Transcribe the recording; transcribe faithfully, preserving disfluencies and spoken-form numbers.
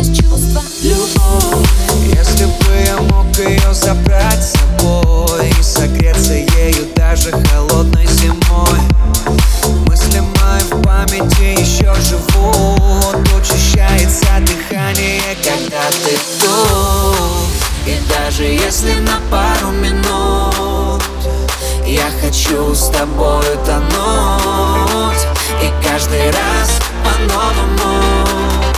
чувства. Любовь, если бы я мог ее забрать с собой и согреться ею даже холодной зимой. Мысли мои в памяти еще живут, учащается дыхание, когда ты тут. И даже если на пару минут я хочу с тобою тонуть, и каждый раз по-новому